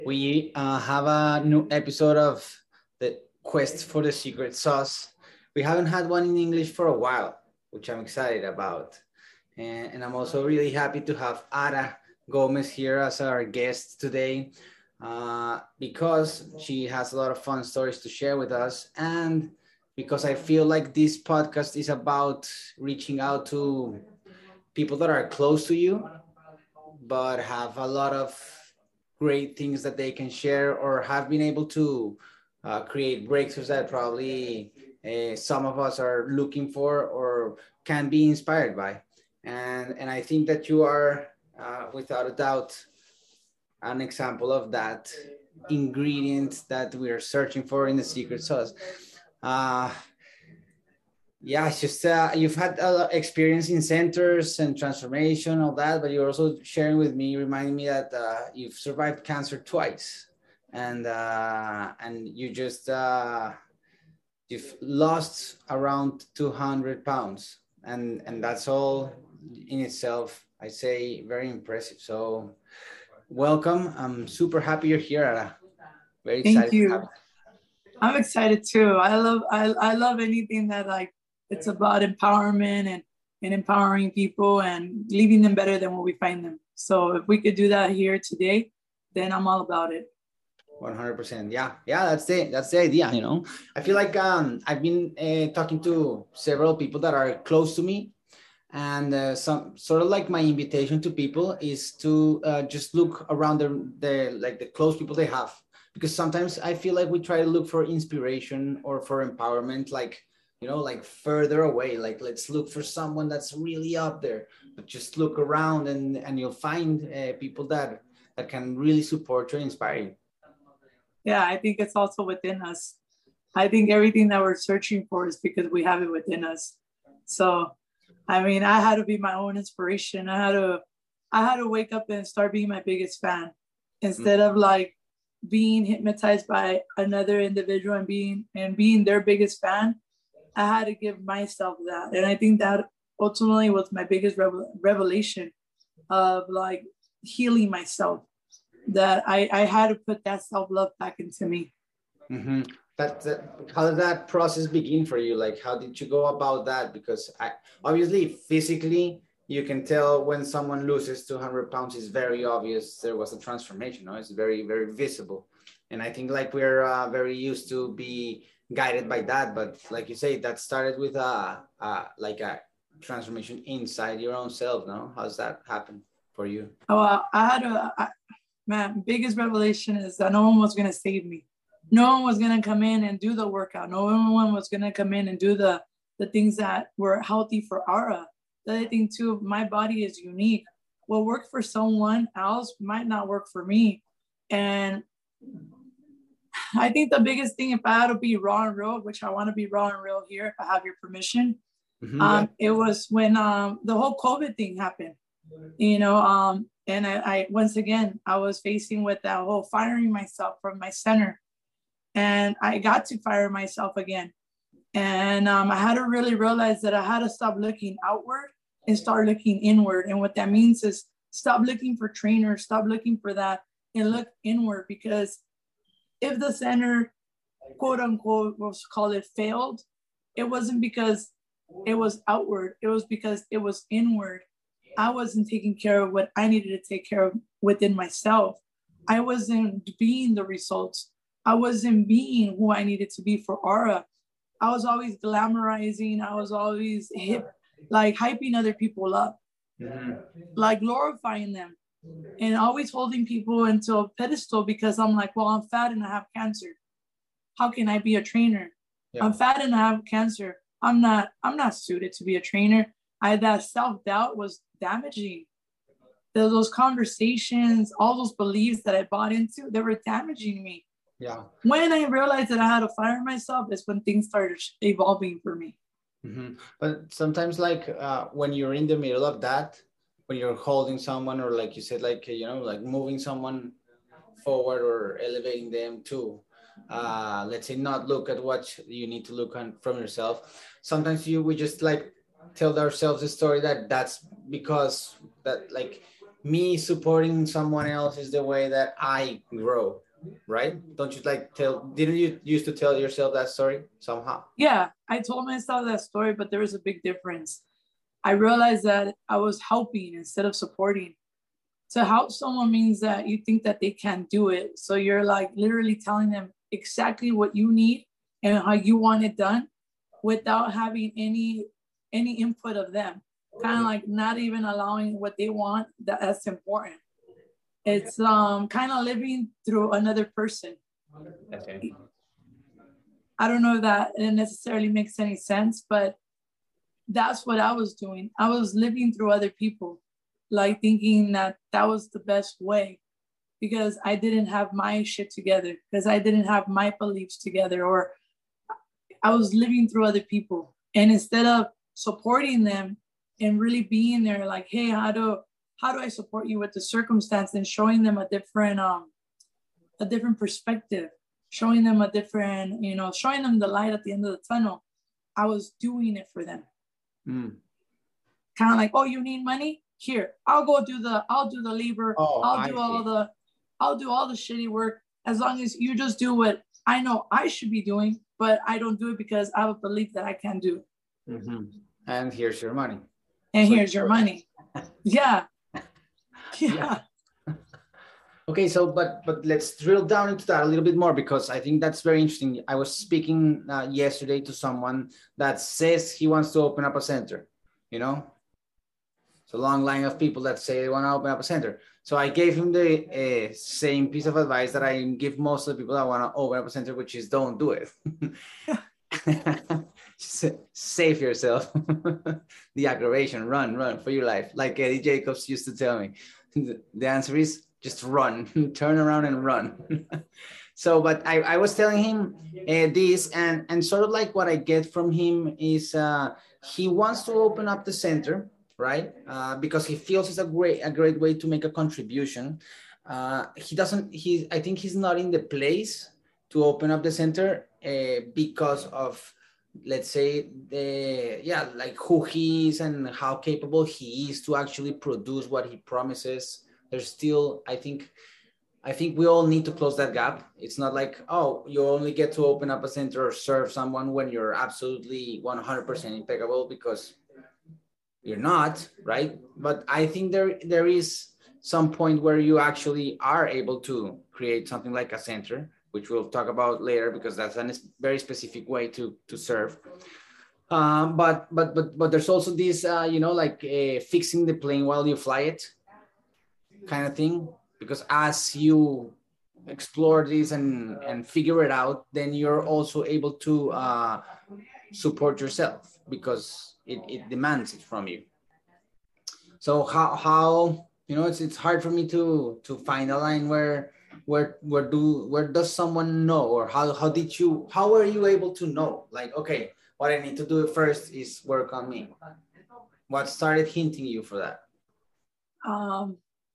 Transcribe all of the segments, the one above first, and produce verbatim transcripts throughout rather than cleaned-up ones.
We uh, have a new episode of the Quest for the Secret Sauce. We haven't had one in English for a while, which I'm excited about. And, and I'm also really happy to have Ara Gomez here as our guest today uh, because she has a lot of fun stories to share with us. And because I feel like this podcast is about reaching out to people that are close to you, but have a lot of great things that they can share or have been able to uh, create breakthroughs that probably uh, some of us are looking for or can be inspired by. And, and I think that you are, uh, without a doubt, an example of that ingredient that we are searching for in the secret sauce. Uh, yeah, it's just uh, you've had a lot of experience in centers and transformation, all that, but you're also sharing with me, reminding me that uh, you've survived cancer twice, and uh, and you just uh, you've lost around two hundred pounds, and and that's all in itself, I say, very impressive. So, welcome. I'm super happy you're here, Ara. Very Thank excited to have you. I'm excited too. I love I, I love anything that like it's about empowerment and, and empowering people and leaving them better than what we find them. So if we could do that here today, then I'm all about it. one hundred percent. Yeah, yeah, that's the that's the idea. You know, I feel like um, I've been uh, talking to several people that are close to me, and uh, some sort of like my invitation to people is to uh, just look around the the like the close people they have, because sometimes I feel like we try to look for inspiration or for empowerment, like you know, like further away. Like let's look for someone that's really up there, but just look around and and you'll find uh, people that that can really support you and inspire you. Yeah, I think it's also within us. I think everything that we're searching for is because we have it within us. So I mean, I had to be my own inspiration. I had to I had to wake up and start being my biggest fan instead of like being hypnotized by another individual and being and being their biggest fan. I had to give myself that. And I think that ultimately was my biggest revel- revelation of like healing myself, that I, I had to put that self-love back into me. Mm-hmm. That, that how did that process begin for you? Like, how did you go about that? Because I obviously physically you can tell when someone loses two hundred pounds. Is very obvious there was a transformation. No, it's very very visible, and I think like we're uh, very used to be guided by that. But like you say, that started with a, a like a transformation inside your own self. No, how's that happen for you? Oh, I, I had a I, man, biggest revelation is that no one was gonna save me. No one was gonna come in and do the workout. No one was gonna come in and do the the things that were healthy for Ara. The other thing too, my body is unique. What worked for someone else might not work for me. And I think the biggest thing, if I had to be raw and real, which I want to be raw and real here, if I have your permission, Mm-hmm, yeah. um, it was when um, the whole COVID thing happened, you know, um, and I, I, once again, I was facing with that whole firing myself from my center, and I got to fire myself again. And um, I had to really realize that I had to stop looking outward and start looking inward. And what that means is stop looking for trainers, stop looking for that, and look inward. Because if the center, quote unquote, was call it failed, it wasn't because it was outward. It was because it was inward. I wasn't taking care of what I needed to take care of within myself. I wasn't being the results. I wasn't being who I needed to be for Ara. I was always glamorizing. I was always hip, like hyping other people up, mm-hmm. like glorifying them, and always holding people into a pedestal because I'm like, well, I'm fat and I have cancer. How can I be a trainer? Yeah. I'm fat and I have cancer. I'm not, I'm not suited to be a trainer. I, that self-doubt was damaging. Those conversations, all those beliefs that I bought into, they were damaging me. Yeah. When I realized that I had to fire myself is when things started evolving for me. Mm-hmm. But sometimes like uh, when you're in the middle of that, when you're holding someone or like you said, like, you know, like moving someone forward or elevating them to, uh, let's say, not look at what you need to look on from yourself. Sometimes you, we just like tell ourselves a story that that's because that like me supporting someone else is the way that I grow, right? Don't you like tell, didn't you used to tell yourself that story somehow? Yeah, I told myself that story, but there was a big difference. I realized that I was helping instead of supporting. To help someone means that you think that they can't do it. So you're like literally telling them exactly what you need and how you want it done without having any any input of them. Kind of like not even allowing what they want. That, that's important. It's um kind of living through another person. Okay. I don't know if that it necessarily makes any sense, but that's what I was doing. I was living through other people, like thinking that that was the best way because I didn't have my shit together, because I didn't have my beliefs together, or I was living through other people. And instead of supporting them and really being there, like, hey, how do how do I support you with the circumstance, and showing them a different um a different perspective, showing them a different, you know, showing them the light at the end of the tunnel. I was doing it for them. Mm. Kind of like, oh, you need money? Here, I'll go do the, I'll do the labor. Oh, I'll do I all see. the, I'll do all the shitty work as long as you just do what I know I should be doing, but I don't do it because I have a belief that I can do. Mm-hmm. And here's your money. And so here's your money. Yeah. Yeah. Yeah. Okay, so but but let's drill down into that a little bit more, because I think that's very interesting. I was speaking uh, yesterday to someone that says he wants to open up a center, you know? It's a long line of people that say they want to open up a center. So I gave him the uh, same piece of advice that I give most of the people that want to open up a center, which is don't do it. Save yourself. The aggravation, run, run for your life. Like Eddie Jacobs used to tell me. The answer is just run, turn around and run. So, but I, I was telling him uh, this, and, and sort of like what I get from him is uh, he wants to open up the center, right? Uh, because he feels it's a great, a great way to make a contribution. Uh, he doesn't, he, I think he's not in the place to open up the center uh, because of, let's say, the, yeah, like who he is and how capable he is to actually produce what he promises. There's still, I think, I think we all need to close that gap. It's not like, oh, you only get to open up a center or serve someone when you're absolutely one hundred percent impeccable, because you're not, right? But I think there, there is some point where you actually are able to create something like a center, which we'll talk about later, because that's a very specific way to, to serve. Um, but, but, but, but there's also this, uh, you know, like uh, fixing the plane while you fly it kind of thing, because as you explore this and, and figure it out, then you're also able to uh, support yourself, because it, it demands it from you. So how, how, you know, it's, it's hard for me to, to find a line where, where, where do, where does someone know, or how, how did you, how were you able to know, like, okay, what I need to do first is work on me? What started hinting you for that? Um,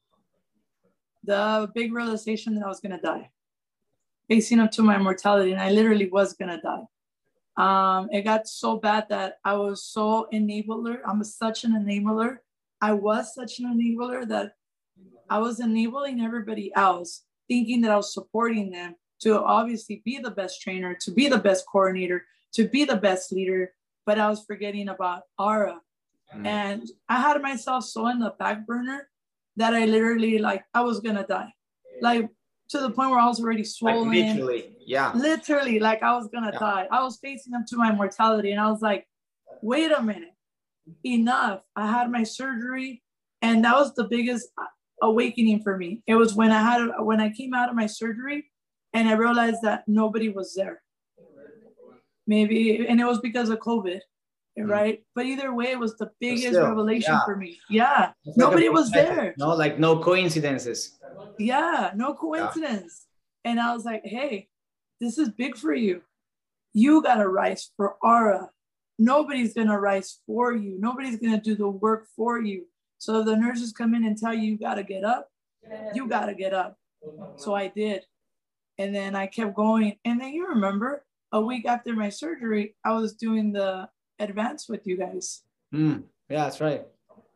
the big realization that I was going to die, facing up to my mortality, and I literally was going to die. Um, it got so bad that I was so enabler. I'm such an enabler. I was such an enabler that I was enabling everybody else, thinking that I was supporting them to obviously be the best trainer, to be the best coordinator, to be the best leader. But I was forgetting about Ara. Mm. And I had myself so in the back burner that I literally, like, I was going to die. Like, to the point where I was already swollen. Like literally, yeah. Literally, like I was going to yeah. die. I was facing up to my mortality. And I was like, wait a minute. Enough. I had my surgery. And that was the biggest awakening for me. It was when I had, when I came out of my surgery and I realized that nobody was there. Maybe, and it was because of COVID. Right, but either way, it was the biggest still, revelation yeah. for me. Yeah, it's nobody like was there. No, like no coincidences. Yeah, no coincidence. Yeah. And I was like, hey, this is big for you. You gotta rise for Ara. Nobody's gonna rise for you. Nobody's gonna do the work for you. So if the nurses come in and tell you you gotta get up, you gotta get up. So I did, and then I kept going. And then you remember, a week after my surgery, I was doing the advance with you guys. Mm, yeah, that's right.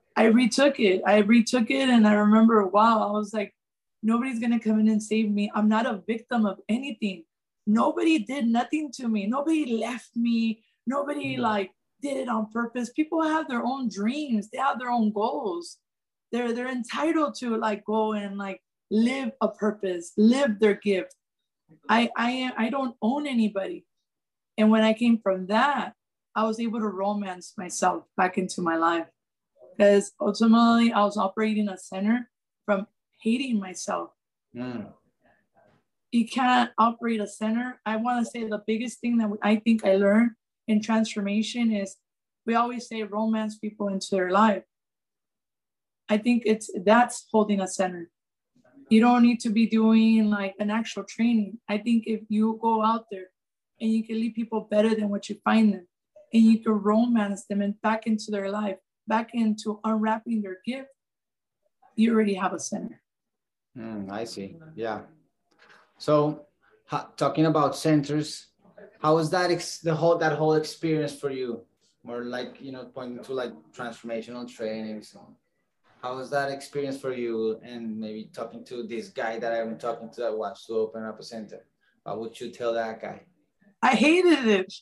I retook it. I retook it. And I remember, wow, I was like, nobody's going to come in and save me. I'm not a victim of anything. Nobody did nothing to me. Nobody left me. Nobody like did it on purpose. People have their own dreams. They have their own goals. They're, they're entitled to like go and like live a purpose, live their gift. I, I, I don't own anybody. And when I came from that, I was able to romance myself back into my life. Because ultimately, I was operating a center from hating myself. Mm. You can't operate a center. I want to say the biggest thing that I think I learned in transformation is we always say romance people into their life. I think it's that's holding a center. You don't need to be doing like an actual training. I think if you go out there and you can leave people better than what you find them, and you can romance them and back into their life, back into unwrapping their gift, you already have a center. Mm, I see. Yeah. So ha, talking about centers, how was that ex the whole that whole experience for you? More like, you know, pointing to like transformational trainings. How was that experience for you? And maybe talking to this guy that I'm talking to that wants to open up a center. What would you tell that guy? I hated it.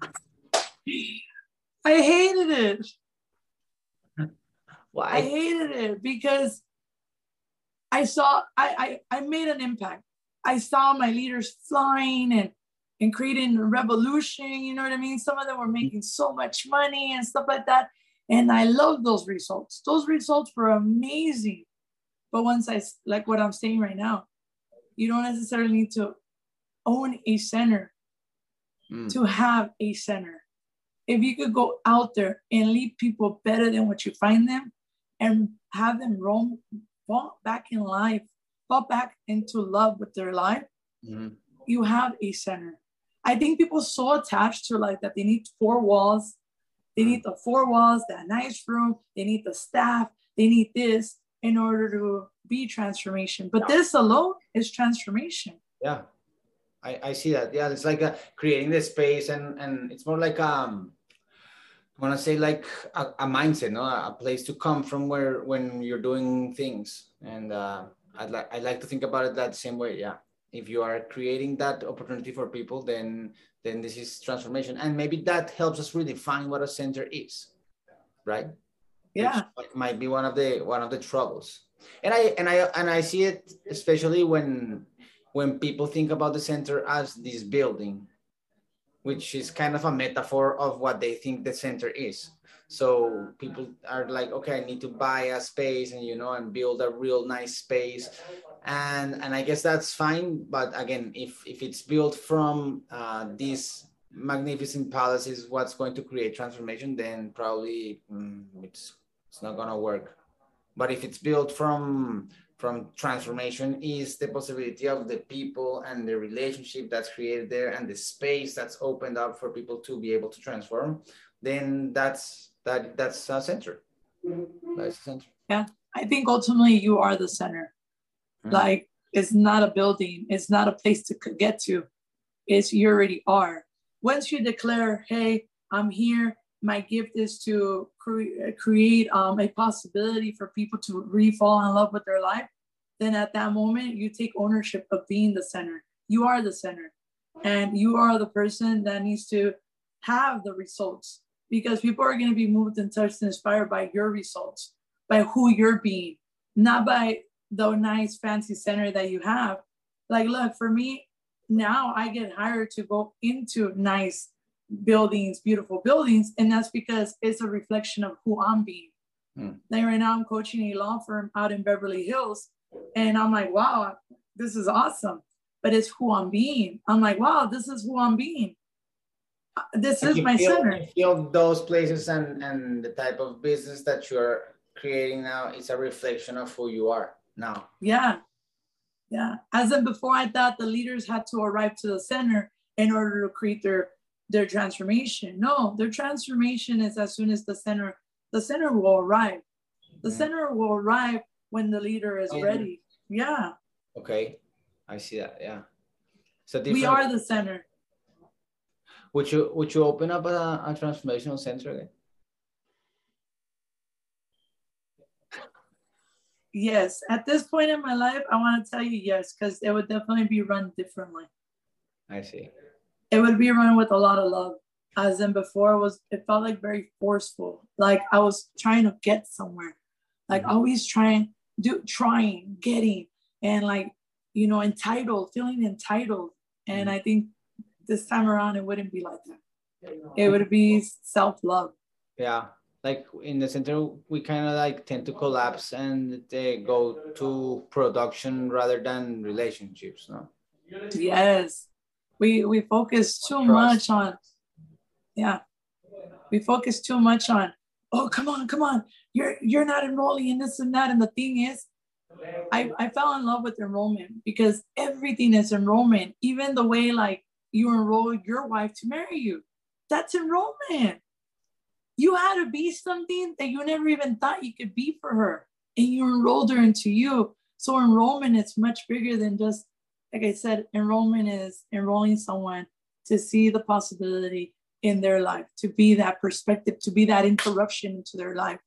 I hated it. Why? I hated it because I saw, I, I, I made an impact. I saw my leaders flying and, and creating a revolution, you know what I mean? Some of them were making so much money and stuff like that. And I love those results. Those results were amazing. But once I, like what I'm saying right now, you don't necessarily need to own a center mm. to have a center. If you could go out there and leave people better than what you find them and have them roam, fall back in life, fall back into love with their life, mm. you have a center. I think people are so attached to like that they need four walls. They need the four walls, that nice room. They need the staff. They need this in order to be transformation. But this alone is transformation. Yeah, I, I see that. Yeah, it's like a, creating the space, and and it's more like um, I want to say like a, a mindset, no, a place to come from where when you're doing things. And uh, I'd like I like to think about it that same way. Yeah, if you are creating that opportunity for people, then. then this is transformation. And maybe that helps us redefine what a center is, right? Yeah. Which might be one of the one of the troubles. And I and I and I see it especially when when people think about the center as this building, which is kind of a metaphor of what they think the center is. So people are like, okay, I need to buy a space and, you know, and build a real nice space. And, and I guess that's fine. But again, if, if it's built from uh, these magnificent palaces, what's going to create transformation, then probably mm, it's, it's not going to work. But if it's built from, from transformation is the possibility of the people and the relationship that's created there and the space that's opened up for people to be able to transform, then that's that that's a center. That's a center. Yeah, I think ultimately you are the center. Mm. Like it's not a building, it's not a place to get to. It's you already are. Once you declare, hey, I'm here, my gift is to cre- create um, a possibility for people to re-fall in love with their life, then at that moment, you take ownership of being the center. You are the center. And you are the person that needs to have the results because people are going to be moved and touched and inspired by your results, by who you're being, not by the nice fancy center that you have. Like, look, for me, now I get hired to go into nice buildings, beautiful buildings, and that's because it's a reflection of who I'm being. Hmm. Like right now I'm coaching a law firm out in Beverly Hills, and I'm like, wow, this is awesome, but it's who I'm being. I'm like, wow, this is who I'm being. This is my feel, center. You feel those places and, and the type of business that you're creating now is a reflection of who you are now. Yeah. Yeah. As in before, I thought the leaders had to arrive to the center in order to create their, their transformation. No, their transformation is as soon as the center, the center will arrive. The mm-hmm. center will arrive when the leader is mm-hmm. ready. Yeah. Okay. I see that. Yeah. So we are the center. Would you would you open up a, a transformational center again? Yes, at this point in my life, I want to tell you yes, because it would definitely be run differently. I see. It would be run with a lot of love. As in before, it was it felt like very forceful. Like I was trying to get somewhere, like mm-hmm. always trying, do trying, getting, and like you know, entitled, feeling entitled. And mm-hmm. I think this time around, it wouldn't be like that. It would be self-love. Yeah. Like in the center, we kind of like tend to collapse and they go to production rather than relationships, no? Yes. We we focus too Trust. much on, yeah. We focus too much on, oh, come on, come on. You're you're not enrolling in this and that. And the thing is, I, I fell in love with enrollment because everything is enrollment. Even the way like you enroll your wife to marry you, that's enrollment. You had to be something that you never even thought you could be for her, and you enrolled her into you. So enrollment is much bigger than just, like I said, enrollment is enrolling someone to see the possibility in their life, to be that perspective, to be that interruption into their life.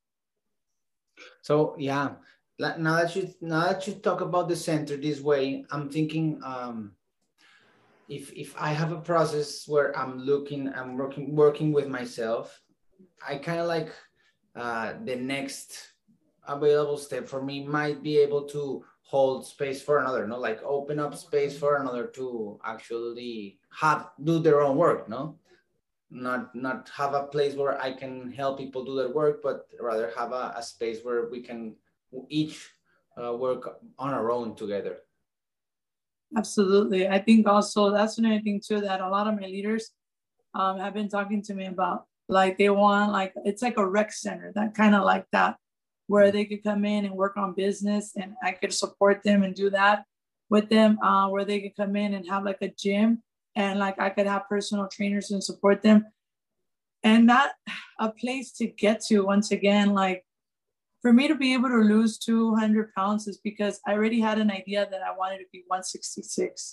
So yeah, now that you now that you talk about the center this way, I'm thinking um, if if I have a process where I'm looking, I'm working working with myself, I kind of like uh, the next available step for me might be able to hold space for another, no, like open up space for another to actually have do their own work, no, not not have a place where I can help people do their work, but rather have a, a space where we can each uh, work on our own together. Absolutely. I think also that's another thing too that a lot of my leaders um, have been talking to me about. Like they want, like, it's like a rec center, that kind of like that, where they could come in and work on business and I could support them and do that with them, uh, where they could come in and have like a gym and like I could have personal trainers and support them. And not a place to get to, once again, like for me to be able to lose two hundred pounds is because I already had an idea that I wanted to be one sixty-six.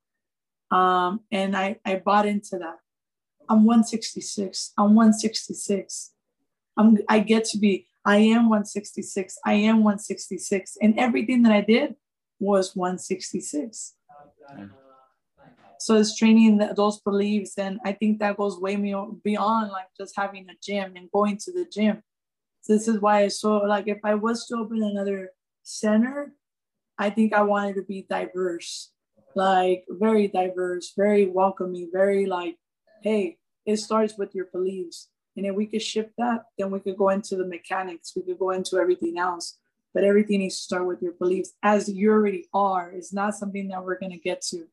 Um, and I, I bought into that. I'm one sixty-six. I'm one sixty-six. I'm, I get to be, I am one sixty-six. I am one sixty-six. And everything that I did was one sixty-six. Mm. So it's training the, those beliefs. And I think that goes way beyond like just having a gym and going to the gym. So this is why I saw, like, if I was to open another center, I think I wanted to be diverse, like very diverse, very welcoming, very like, hey, it starts with your beliefs. And if we could shift that, then we could go into the mechanics. We could go into everything else. But everything needs to start with your beliefs, as you already are. It's not something that we're going to get to.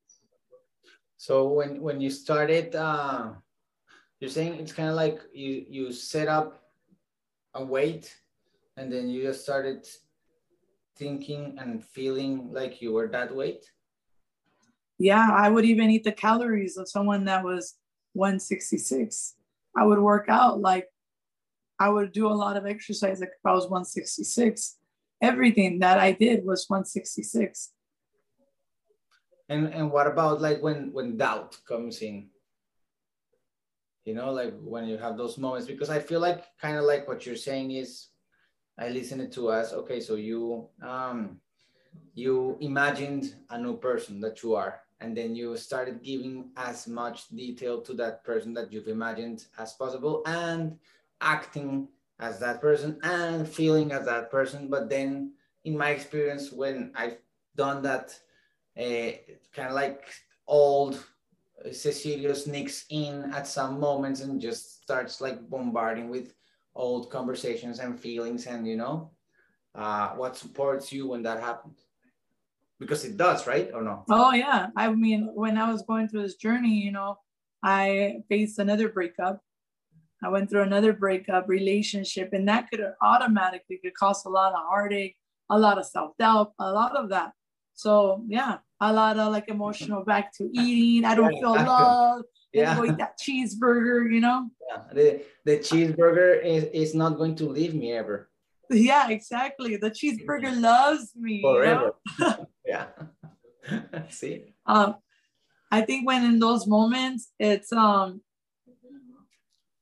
So when, when you started, uh, you're saying it's kind of like you, you set up a weight and then you just started thinking and feeling like you were that weight? Yeah, I would even eat the calories of someone that was one sixty-six. I would work out, like I would do a lot of exercise like if I was one sixty-six. Everything that I did was one sixty-six. And and what about like when when doubt comes in? You know, like when you have those moments, because I feel like kind of like what you're saying is, I listened to us. Okay, so you um you imagined a new person that you are, and then you started giving as much detail to that person that you've imagined as possible and acting as that person and feeling as that person. But then in my experience, when I've done that, uh, kind of like old Cecilio sneaks in at some moments and just starts like bombarding with old conversations and feelings, and you know, uh, what supports you when that happens? Because it does, right? Or no? Oh, yeah. I mean, when I was going through this journey, you know, I faced another breakup. I went through another breakup relationship, and that could automatically could cause a lot of heartache, a lot of self-doubt, a lot of that. So, yeah, a lot of like emotional back to eating. I don't yeah, feel love. Yeah. Go eat that cheeseburger, you know? Yeah, the, the cheeseburger is, is not going to leave me ever. Yeah, exactly. The cheeseburger loves me. Forever. You know? Yeah. See? Um, I think when in those moments, it's um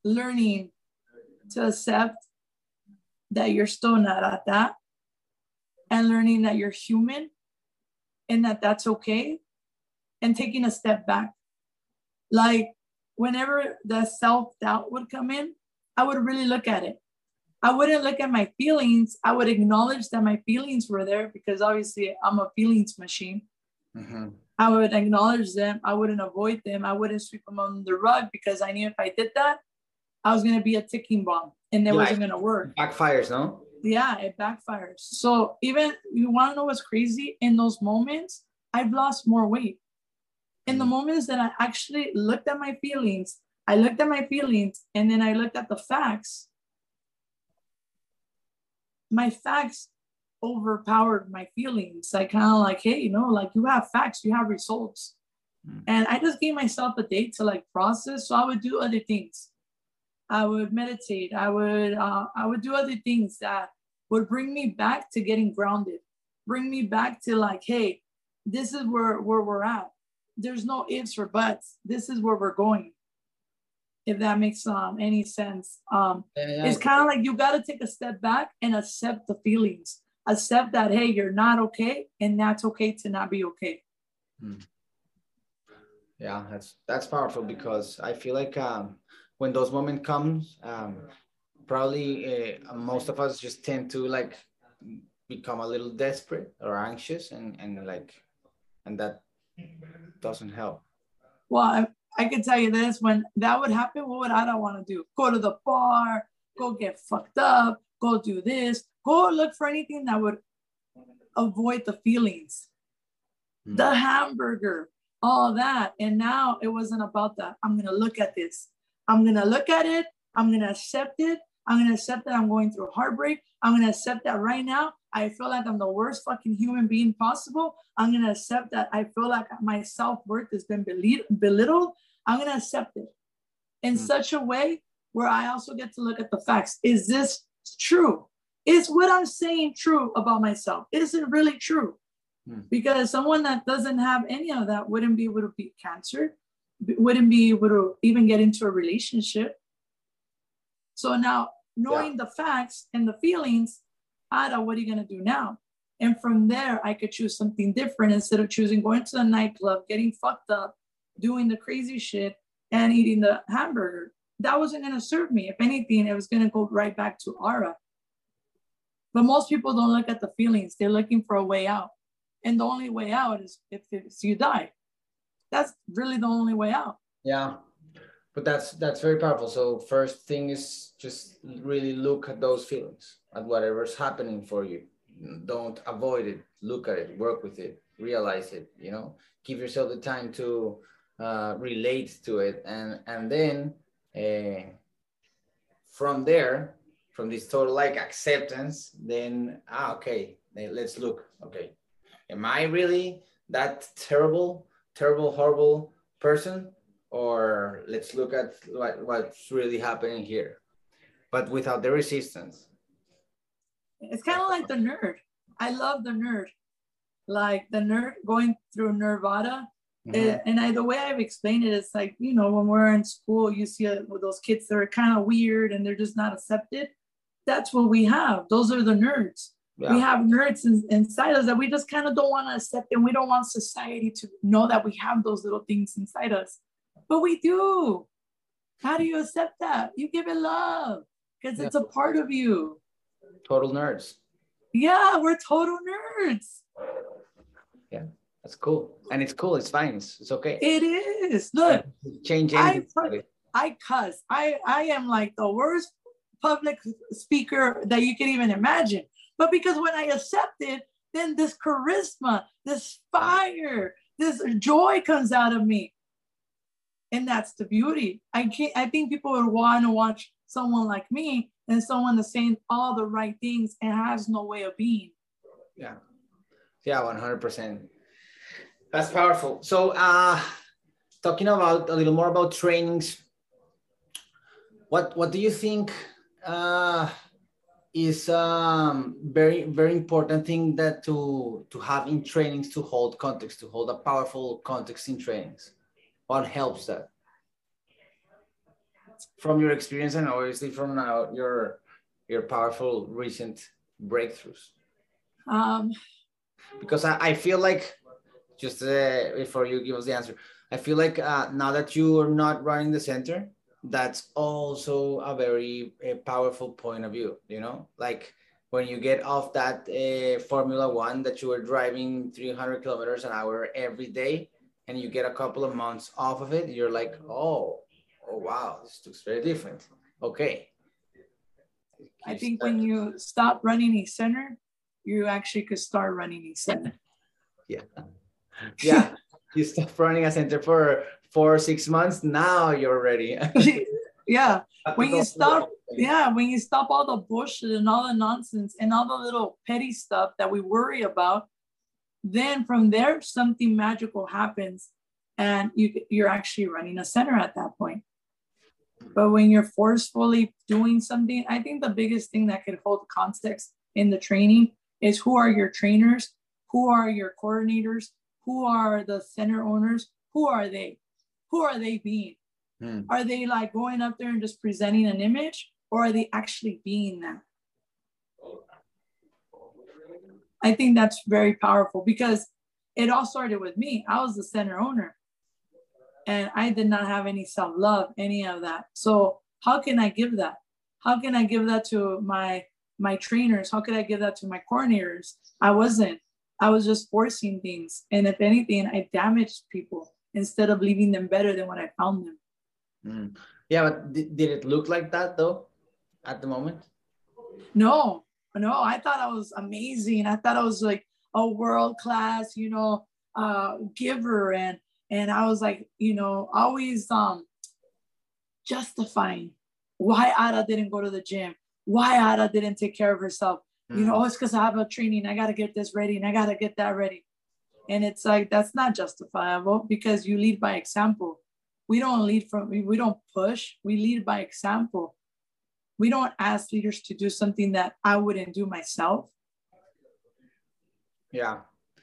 learning to accept that you're still not at that. and learning that you're human and that that's okay, and taking a step back. Like whenever the self-doubt would come in, I would really look at it. I wouldn't look at my feelings. I would acknowledge that my feelings were there because obviously I'm a feelings machine. Mm-hmm. I would acknowledge them. I wouldn't avoid them. I wouldn't sweep them under the rug because I knew if I did that, I was going to be a ticking bomb and it yeah, wasn't going to work. It backfires, no? Yeah, it backfires. So even, you want to know what's crazy? In those moments, I've lost more weight. In the moments that I actually looked at my feelings, I looked at my feelings and then I looked at the facts. My facts overpowered my feelings. I kind of like, hey, you know, like you have facts, you have results. Mm. And I just gave myself a day to like process. So I would do other things. I would meditate. I would, uh, I would do other things that would bring me back to getting grounded, bring me back to like, hey, this is where, where we're at. There's no ifs or buts. This is where we're going. If that makes um, any sense. Um, yeah, yeah, it's kind of like you got to take a step back and accept the feelings. Accept that, hey, you're not okay. And that's okay to not be okay. Hmm. Yeah, that's that's powerful because I feel like um, when those moments comes, um, probably uh, most of us just tend to like become a little desperate or anxious and, and like, and that doesn't help. Well, I, I can tell you this, when that would happen, what would I not want to do? Go to the bar, go get fucked up, go do this, go look for anything that would avoid the feelings. Mm. The hamburger, all that. And now it wasn't about that. I'm going to look at this. I'm going to look at it. I'm going to accept it. I'm going to accept that I'm going through heartbreak. I'm going to accept that right now I feel like I'm the worst fucking human being possible. I'm going to accept that I feel like my self-worth has been belittled. I'm going to accept it in mm. such a way where I also get to look at the facts. Is this true? Is what I'm saying true about myself? Is it really true? Mm. Because someone that doesn't have any of that wouldn't be able to beat cancer, wouldn't be able to even get into a relationship. So now, knowing yeah. the facts and the feelings, Ada, what are you going to do now? And from there, I could choose something different instead of choosing going to the nightclub, getting fucked up, doing the crazy shit, and eating the hamburger. That wasn't going to serve me. If anything, it was going to go right back to Ara. But most people don't look at the feelings. They're looking for a way out. And the only way out is if it's you die. That's really the only way out. Yeah. But that's that's very powerful. So first thing is just really look at those feelings, at whatever's happening for you. Don't avoid it. Look at it. Work with it. Realize it. You know, give yourself the time to uh, relate to it, and and then uh, from there, from this total like acceptance, then ah okay, then let's look. Okay, am I really that terrible, terrible, horrible person? Or let's look at what, what's really happening here, but without the resistance. It's kind of like the nerd. I love the nerd. Like the nerd going through Nirvana. Mm-hmm. And I, the way I've explained it, it's like, you know, when we're in school, you see uh, those kids that are kind of weird and they're just not accepted. That's what we have. Those are the nerds. Yeah. We have nerds in, inside us that we just kind of don't want to accept, and we don't want society to know that we have those little things inside us. But we do. How do you accept that? You give it love because yeah. it's a part of you. Total nerds. Yeah, we're total nerds. Yeah, that's cool. And it's cool. It's fine. It's, it's okay. It is. Look, change anything. I, I cuss. I, I am like the worst public speaker that you can even imagine. But because when I accept it, then this charisma, this fire, this joy comes out of me. And that's the beauty. I can't, I think people would want to watch someone like me and someone that's saying all the right things and has no way of being. Yeah. Yeah, one hundred percent. That's powerful. So uh, talking about a little more about trainings, what, what do you think uh, is um, very, very important thing that to, to have in trainings to hold context, to hold a powerful context in trainings? What helps that? From your experience and obviously from now your your powerful recent breakthroughs. Um, Because I, I feel like, just uh, before you give us the answer, I feel like uh, now that you are not running the center, that's also a very uh, powerful point of view, you know, like when you get off that uh, Formula One that you were driving three hundred kilometers an hour every day, and you get a couple of months off of it, you're like, oh, oh wow, this looks very different. Okay. I You think start, when you stop running a center, you actually could start running a center. yeah. Yeah, you stop running a center for four or six months. Now you're ready. Yeah, when you stop, yeah, when you stop all the bullshit and all the nonsense and all the little petty stuff that we worry about, then from there something magical happens, and you you're actually running a center at that point. But when you're forcefully doing something, I think the biggest thing that could hold context in the training is who are your trainers, who are your coordinators, who are the center owners, who are they? Who are they being? Hmm. Are they like going up there and just presenting an image, or are they actually being that? I think that's very powerful because it all started with me. I was the center owner and I did not have any self-love, any of that. So how can I give that? How can I give that to my my trainers? How could I give that to my coordinators? I wasn't. I was just forcing things. And if anything, I damaged people instead of leaving them better than when I found them. Mm. Yeah, but did, did it look like that though at the moment? No, no, I thought I was amazing. I thought I was like a world-class, you know, uh, giver. And and I was like, you know, always um justifying why Ada didn't go to the gym, why Ada didn't take care of herself. Mm. You know, oh, it's because I have a training. I got to get this ready and I got to get that ready. And it's like, that's not justifiable because you lead by example. We don't lead from, we don't push, we lead by example. We don't ask leaders to do something that I wouldn't do myself. Yeah.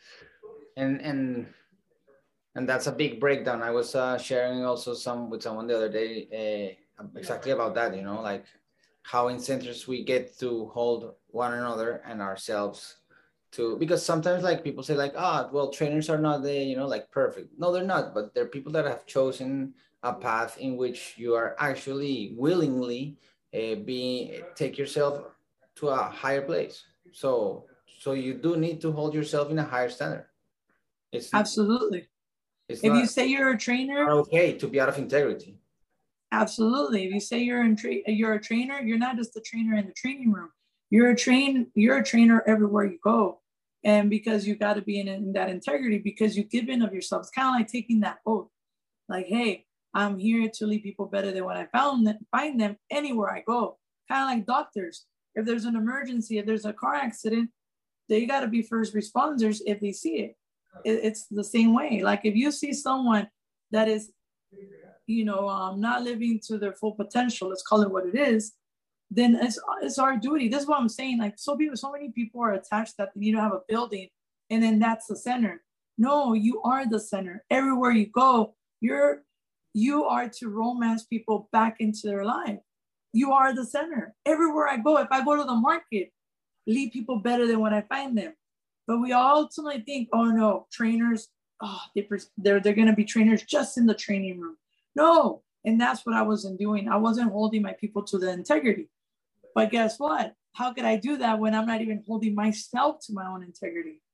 And, and, and that's a big breakdown. I was uh, sharing also some with someone the other day uh, exactly about that, you know, like how in centers we get to hold one another and ourselves to, because sometimes like people say like, ah, well, trainers are not the, you know, like perfect. No, they're not, but they're people that have chosen a path in which you are actually willingly uh, be, take yourself to a higher place. So, so you do need to hold yourself in a higher standard. It's absolutely. It's if not, you say you're a trainer, not okay to be out of integrity. Absolutely. If you say you're in tra- you're a trainer, you're not just a trainer in the training room. You're a train. You're a trainer everywhere you go, and because you got to be in, in that integrity, because you give in of yourself. It's kind of like taking that oath, like, hey, I'm here to lead people better than when I found them, find them anywhere I go. Kind of like doctors. If there's an emergency, if there's a car accident, they got to be first responders if they see it. it. It's the same way. Like if you see someone that is, you know, um, not living to their full potential, let's call it what it is, then it's, it's our duty. This is what I'm saying. Like so people, so many people are attached that they need to have a building and then that's the center. No, you are the center. Everywhere you go, you're, you are to romance people back into their life. You are the center. Everywhere I go, if I go to the market, lead people better than when I find them. But we ultimately think, oh no, trainers, oh, they, they're, they're going to be trainers just in the training room. No, and that's what I wasn't doing. I wasn't holding my people to the integrity. But guess what? How could I do that when I'm not even holding myself to my own integrity?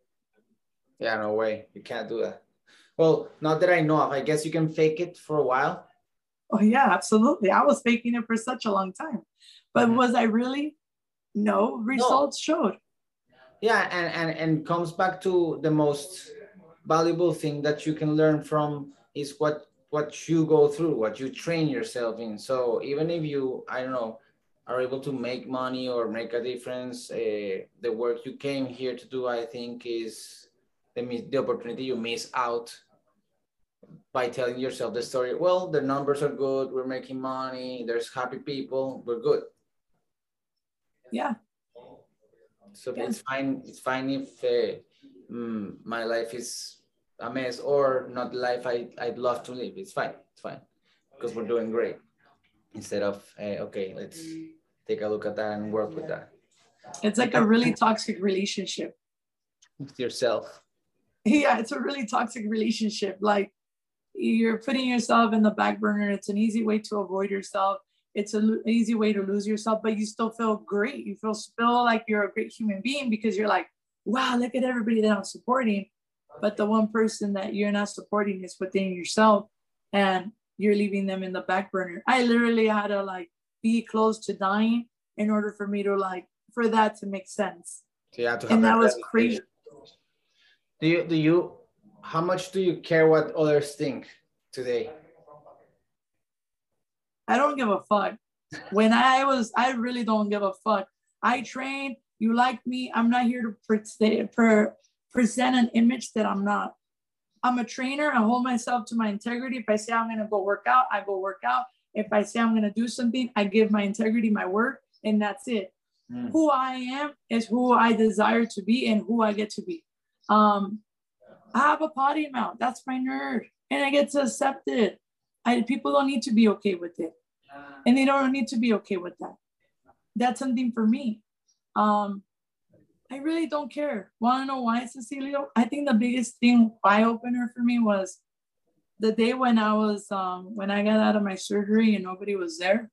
Yeah, no way. You can't do that. Well, not that I know of. I guess you can fake it for a while. Oh, yeah, absolutely. I was faking it for such a long time. But mm-hmm. was I really? No, results no. showed. Yeah, and, and, and comes back to the most valuable thing that you can learn from is what what you go through, what you train yourself in. So even if you, I don't know, are able to make money or make a difference, uh, the work you came here to do, I think is the, the opportunity you miss out by telling yourself the story. Well, the numbers are good, we're making money, there's happy people, we're good. Yeah. So yeah. it's fine, it's fine if uh, mm, my life is a mess or not the life I, I'd love to live. It's fine, it's fine, because we're doing great. Instead of, uh, okay, let's take a look at that and work with that. It's like a really toxic relationship with yourself. Yeah, it's a really toxic relationship. Like you're putting yourself in the back burner. It's an easy way to avoid yourself. It's an easy way to lose yourself, but you still feel great. You feel still like you're a great human being because you're like, wow, look at everybody that I'm supporting. But the one person that you're not supporting is within yourself, and you're leaving them in the back burner. I literally had to like be close to dying in order for me to like, for that to make sense. So you have to have and that was realization. crazy. Do you, do you, how much do you care what others think today? I don't give a fuck. When I was, I really don't give a fuck. I train, you like me. I'm not here to pre- pre- present an image that I'm not. I'm a trainer. I hold myself to my integrity. If I say I'm going to go work out, I go work out. If I say I'm going to do something, I give my integrity, my word, and that's it. Mm. Who I am is who I desire to be and who I get to be. Um, I have a potty mouth. That's my nerd. And I get to accept it. I, people don't need to be okay with it. And they don't need to be okay with that. That's something for me. Um, I really don't care. Want to know why, Cecilio? I think the biggest thing, eye opener for me was the day when I was, um, when I got out of my surgery and nobody was there.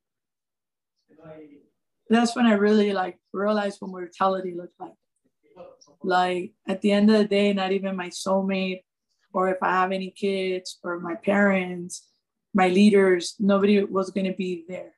That's when I really like realized what mortality looked like. Like at the end of the day, not even my soulmate, or if I have any kids or my parents, my leaders, nobody was going to be there.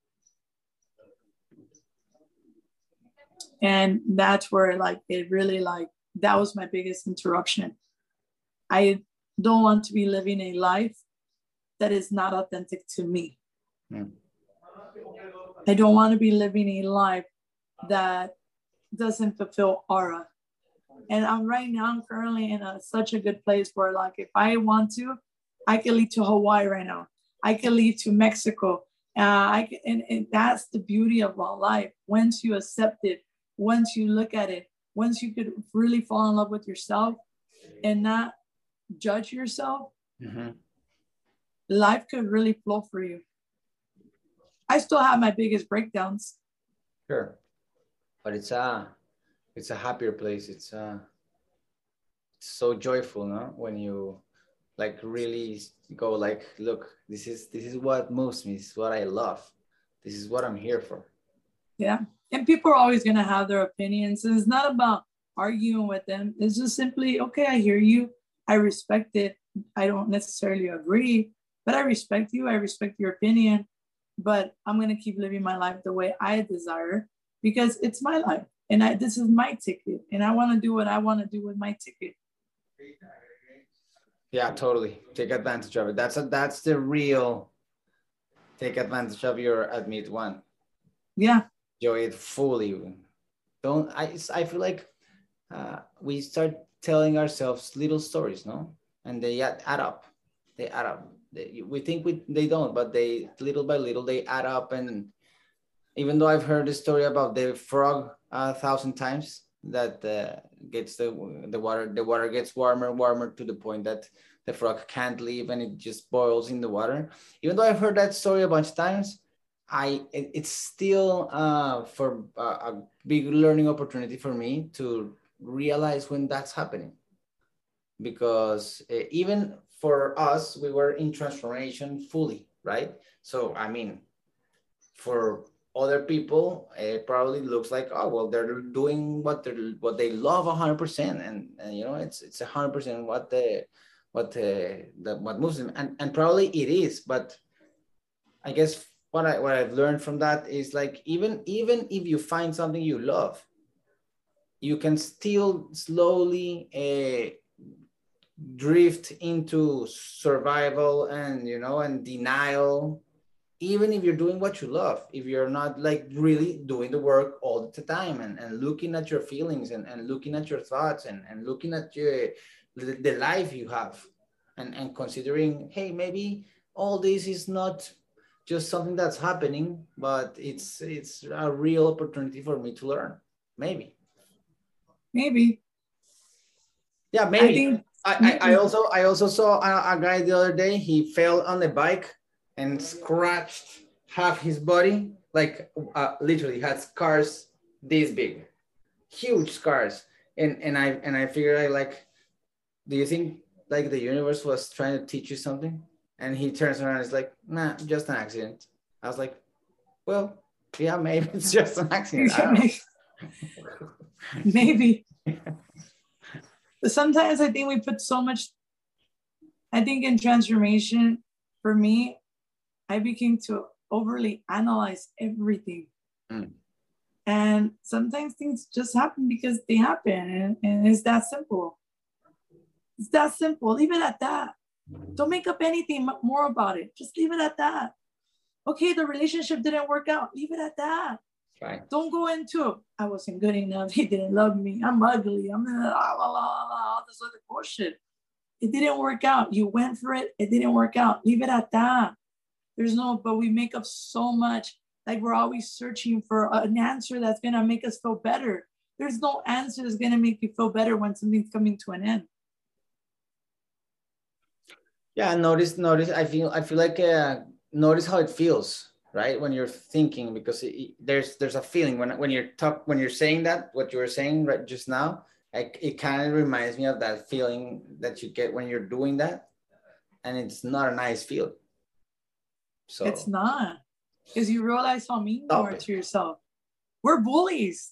And that's where like, it really like, that was my biggest interruption. I don't want to be living a life that is not authentic to me. Mm. I don't want to be living a life that doesn't fulfill aura. And I'm right now, I'm currently in a, such a good place where like, if I want to, I can leave to Hawaii right now. I can leave to Mexico. Uh, I can, and, and that's the beauty of our life. Once you accept it, once you look at it, once you could really fall in love with yourself and not judge yourself, mm-hmm. life could really flow for you. I still have my biggest breakdowns. Sure. But it's a, it's a happier place. It's uh, it's so joyful, no? When you like really go like, look, this is, this is what moves me. This is what I love. This is what I'm here for. Yeah. And people are always going to have their opinions. And it's not about arguing with them. It's just simply, okay, I hear you. I respect it. I don't necessarily agree, but I respect you. I respect your opinion. But I'm going to keep living my life the way I desire because it's my life. And I, this is my ticket. And I want to do what I want to do with my ticket. Yeah, totally. Take advantage of it. That's a, that's the real take advantage of your admit one. Yeah. Enjoy it fully. Don't I? I feel like uh, we start telling ourselves little stories, no, and they add, add up. They add up. They, we think we they don't, but they little by little they add up. And even though I've heard the story about the frog a thousand times, that uh, gets the the water the water gets warmer and warmer to the point that the frog can't leave and it just boils in the water. Even though I've heard that story a bunch of times, I it, it's still uh, for uh, a big learning opportunity for me to realize when that's happening, because uh, even for us, we were in transformation fully, right? So I mean, for other people, it probably looks like, oh well, they're doing what they what they love one hundred percent, and, and you know, it's it's one hundred percent what the what the, the what moves them, and and probably it is, but I guess. What I what I've learned from that is like even even if you find something you love, you can still slowly uh, drift into survival and you know and denial, even if you're doing what you love. If you're not like really doing the work all the time and, and looking at your feelings and, and looking at your thoughts and, and looking at your the, the life you have and, and considering, hey, maybe all this is not just something that's happening, but it's it's a real opportunity for me to learn. Maybe. Maybe. Yeah, maybe. I, think, I, maybe. I, I also I also saw a, a guy the other day. He fell on the bike and scratched half his body, like uh, literally had scars this big, huge scars. And and I and I figured I like, do you think like the universe was trying to teach you something? And he turns around and is like, nah, just an accident. I was like, well, yeah, maybe it's just an accident. I don't know. Maybe. But sometimes I think we put so much, I think in transformation, for me, I became to overly analyze everything. Mm. And sometimes things just happen because they happen. And, and it's that simple. It's that simple. Leave it at that. Don't make up anything more about it. Just leave it at that. Okay, the relationship didn't work out. Leave it at that. Right. Don't go into, I wasn't good enough. He didn't love me. I'm ugly. I'm blah, blah, blah, blah, all this other bullshit. It didn't work out. You went for it. It didn't work out. Leave it at that. There's no, but we make up so much. Like we're always searching for an answer that's going to make us feel better. There's no answer that's going to make you feel better when something's coming to an end. Yeah, notice, notice, I feel, I feel like, uh, notice how it feels, right? When you're thinking, because it, there's, there's a feeling when, when you're talk, when you're saying that, what you were saying right just now, like it kind of reminds me of that feeling that you get when you're doing that. And it's not a nice feeling. So it's not, because you realize how mean you are to yourself. We're bullies.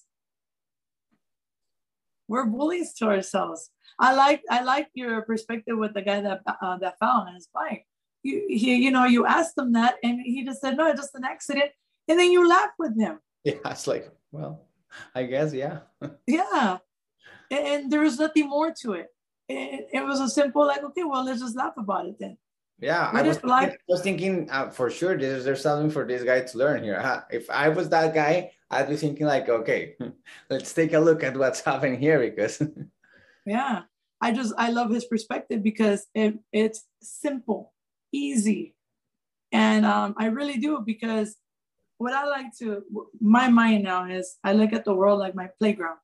We're bullies to ourselves. I like I like your perspective with the guy that uh, that fell on his bike. You he you know you asked him that and he just said no, it's just an accident, and then you laugh with him. Yeah, it's like, well, I guess yeah. Yeah, and, and there was nothing more to it. it. It was a simple like, okay, well, let's just laugh about it then. Yeah, I was, like, I was thinking uh, for sure there's, there's something for this guy to learn here. Uh, if I was that guy, I'd be thinking like, okay, let's take a look at what's happening here because. Yeah, I just, I love his perspective because it, it's simple, easy. And um, I really do, because what I like to, my mind now is I look at the world like my playground.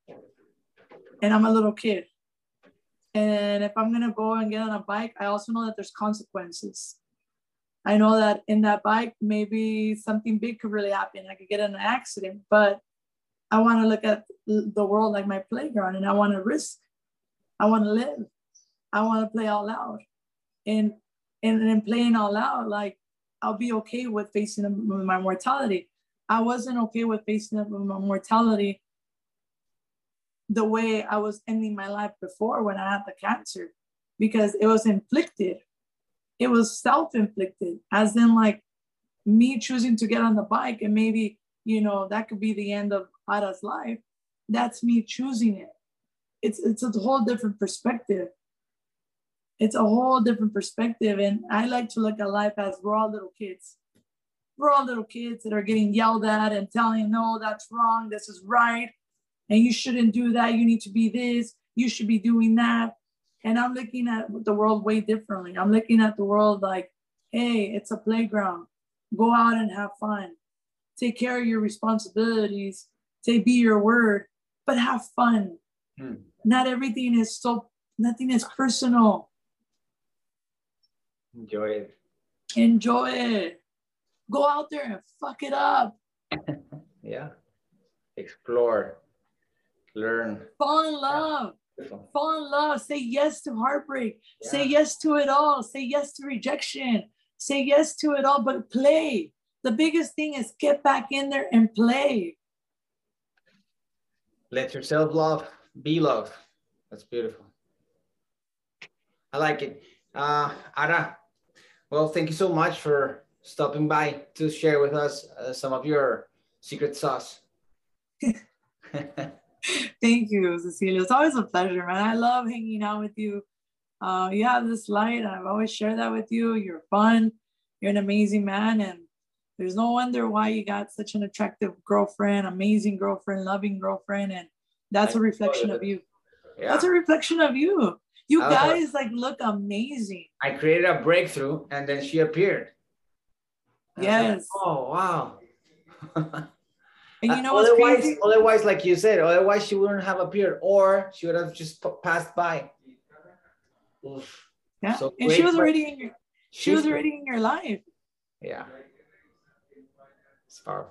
And I'm a little kid. And if I'm going to go and get on a bike, I also know that there's consequences. I know that in that bike, maybe something big could really happen. I could get in an accident, but I want to look at the world like my playground, and I want to risk. I want to live. I want to play out loud. And, and, and in playing out loud, like I'll be okay with facing my mortality. I wasn't okay with facing my mortality the way I was ending my life before when I had the cancer, because it was inflicted. It was self-inflicted, as in like me choosing to get on the bike and maybe, you know, that could be the end of Ada's life. That's me choosing it. It's, it's a whole different perspective. It's a whole different perspective. And I like to look at life as we're all little kids. We're all little kids that are getting yelled at and telling, no, that's wrong. This is right. And you shouldn't do that. You need to be this. You should be doing that. And I'm looking at the world way differently. I'm looking at the world like, hey, it's a playground. Go out and have fun. Take care of your responsibilities. Take be your word, but have fun. Hmm. Not everything is so, nothing is personal. Enjoy it. Enjoy it. Go out there and fuck it up. Yeah. Explore. Learn. Fall in love. Yeah. Fall in love. Say yes to heartbreak. Yeah. Say yes to it all. Say yes to rejection. Say yes to it all, but play. The biggest thing is get back in there and play. Let yourself love. Be loved. That's beautiful. I like it. Uh, Ada, well, thank you so much for stopping by to share with us uh, some of your secret sauce. Thank you, Cecilia. It's always a pleasure, man. I love hanging out with you. Uh, you have this light, and I've always shared that with you. You're fun. You're an amazing man, and there's no wonder why you got such an attractive girlfriend, amazing girlfriend, loving girlfriend, and that's a reflection of you. Yeah. That's a reflection of you. You guys like look amazing. I created a breakthrough, and then she appeared. Yes. Like, oh wow. And you know what's otherwise, crazy? Otherwise, like you said, otherwise she wouldn't have appeared, or she would have just passed by. Oof. Yeah, so and she was already in your, she was already in your life. Yeah, it's powerful.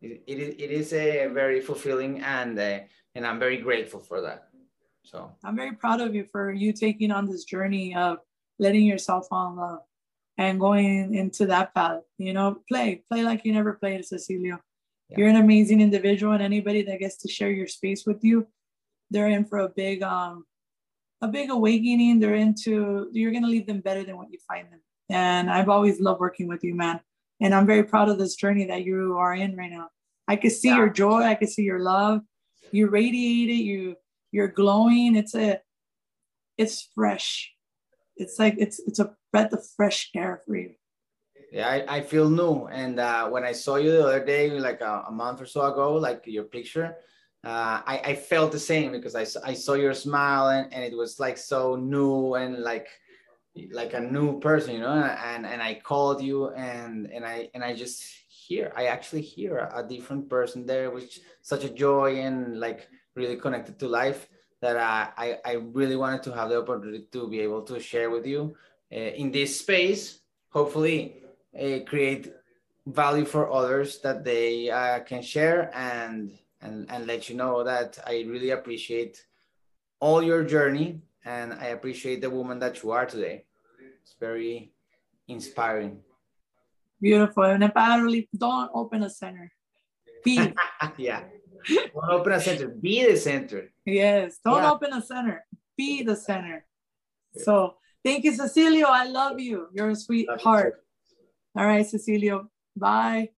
it, it, is, it is a very fulfilling, and uh, and I'm very grateful for that. So I'm very proud of you for you taking on this journey of letting yourself fall in love and going into that path. You know, play, play like you never played, Cecilio. Yeah. You're an amazing individual, and anybody that gets to share your space with you, they're in for a big, um, a big awakening. They're into, you're going to leave them better than what you find them. And I've always loved working with you, man. And I'm very proud of this journey that you are in right now. I can see yeah. your joy. I can see your love. You radiate it. You, you're glowing. It's a, it's fresh. It's like, it's, it's a breath of fresh air for you. Yeah, I, I feel new. And uh, when I saw you the other day, like a, a month or so ago, like your picture, uh, I, I felt the same, because I, I saw your smile, and, and it was like so new, and like, like a new person, you know, and, and I called you, and, and I, and I just hear, I actually hear a different person there, which such a joy, and like really connected to life, that I, I, I really wanted to have the opportunity to be able to share with you uh, in this space, hopefully uh, create value for others that they uh, can share, and, and, and let you know that I really appreciate all your journey, and I appreciate the woman that you are today. It's very inspiring. Beautiful. And apparently, don't open a center. Be. Yeah. Don't open a center. Be the center. Yes. Don't yeah. open a center. Be the center. So thank you, Cecilio. I love you. You're a sweetheart. All right, Cecilio. Bye.